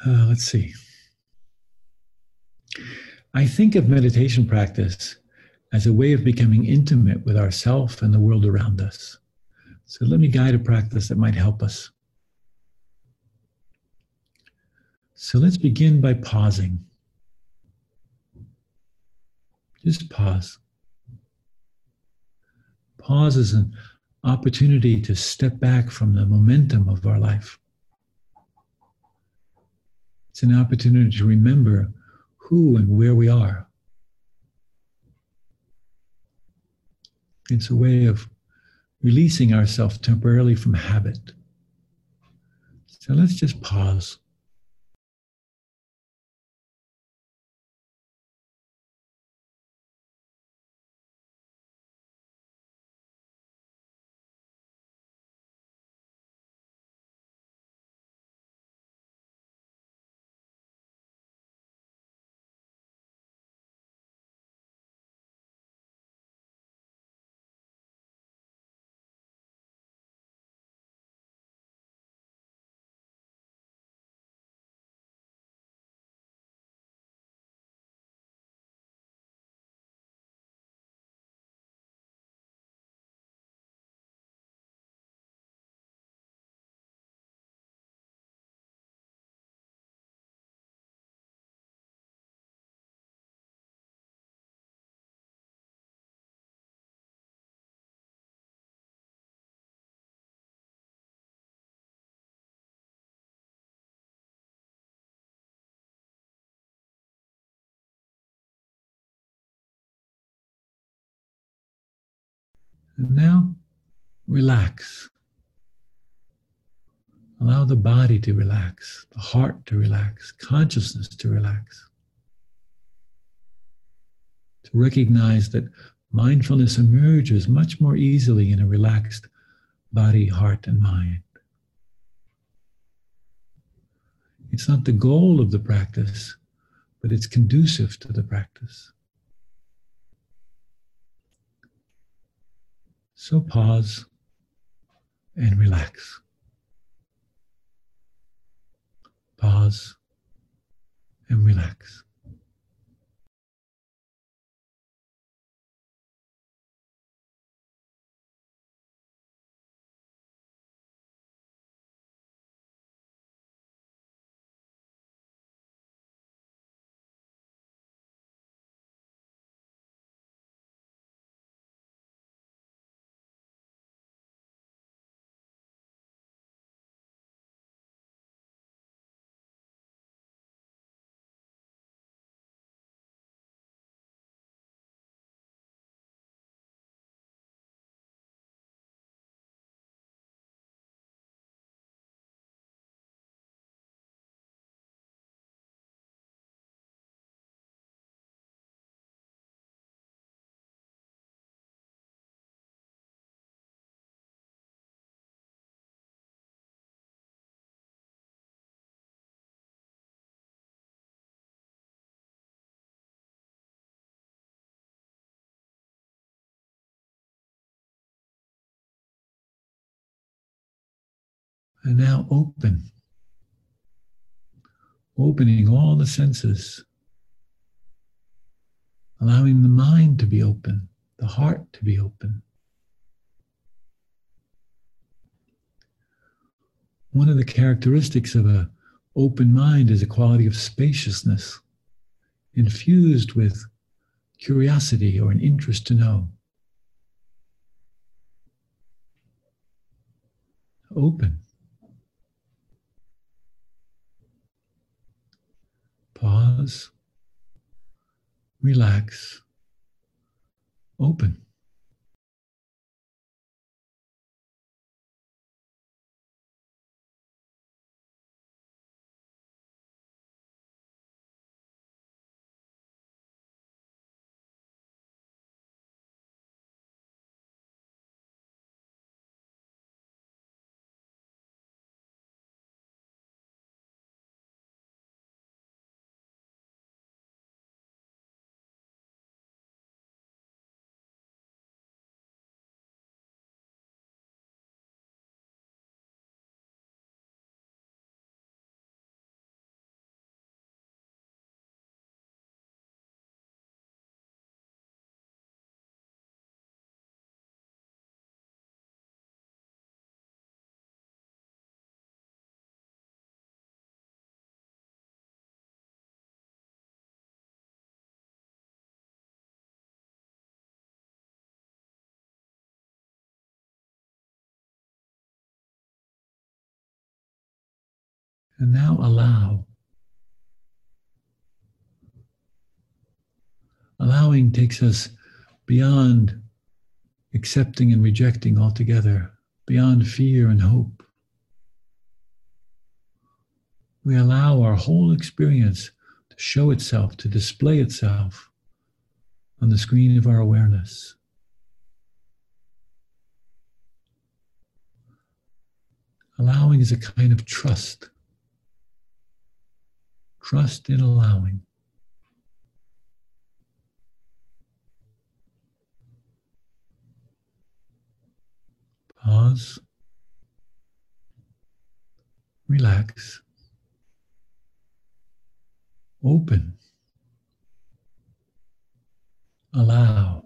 Let's see. I think of meditation practice as a way of becoming intimate with ourself and the world around us. So let me guide a practice that might help us. So let's begin by pausing. Just pause. Pause is an opportunity to step back from the momentum of our life. It's an opportunity to remember who and where we are. It's a way of releasing ourselves temporarily from habit. So let's just pause. And now, relax. Allow the body to relax, the heart to relax, consciousness to relax. To recognize that mindfulness emerges much more easily in a relaxed body, heart, and mind. It's not the goal of the practice, but it's conducive to the practice. So pause and relax. Pause and relax. And now open, opening all the senses, allowing the mind to be open, the heart to be open. One of the characteristics of an open mind is a quality of spaciousness, infused with curiosity or an interest to know. Open. Pause. Relax. Open. And now allow. Allowing takes us beyond accepting and rejecting altogether, beyond fear and hope. We allow our whole experience to show itself, to display itself on the screen of our awareness. Allowing is a kind of trust. Trust in allowing. Pause. Relax. Open. Allow.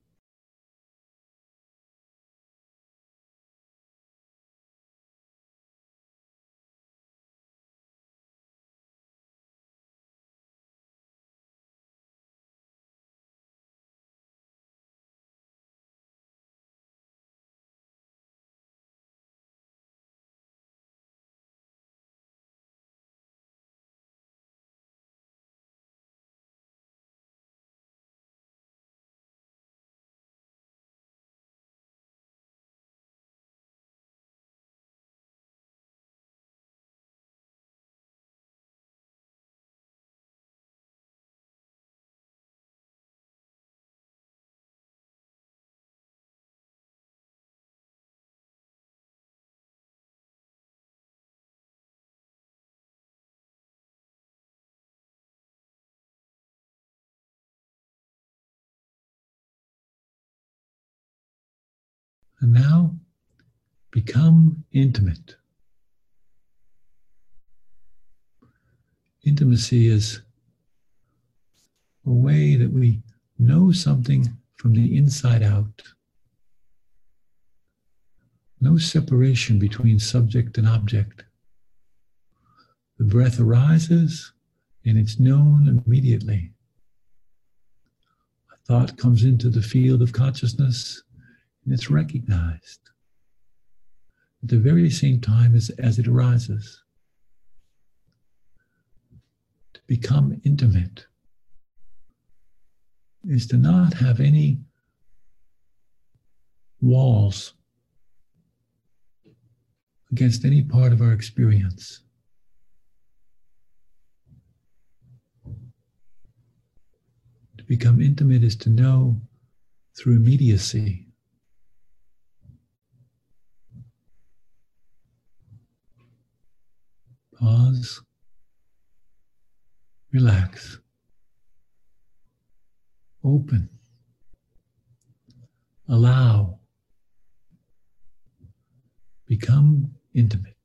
And now become intimate. Intimacy is a way that we know something from the inside out. No separation between subject and object. The breath arises and it's known immediately. A thought comes into the field of consciousness and it's recognized at the very same time as it arises. To become intimate is to not have any walls against any part of our experience. To become intimate is to know through immediacy. Pause. Relax. Open. Allow. Become intimate.